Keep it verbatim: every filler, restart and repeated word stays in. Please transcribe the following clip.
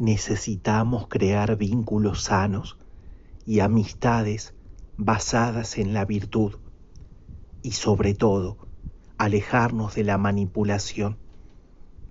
Necesitamos crear vínculos sanos y amistades basadas en la virtud y sobre todo alejarnos de la manipulación.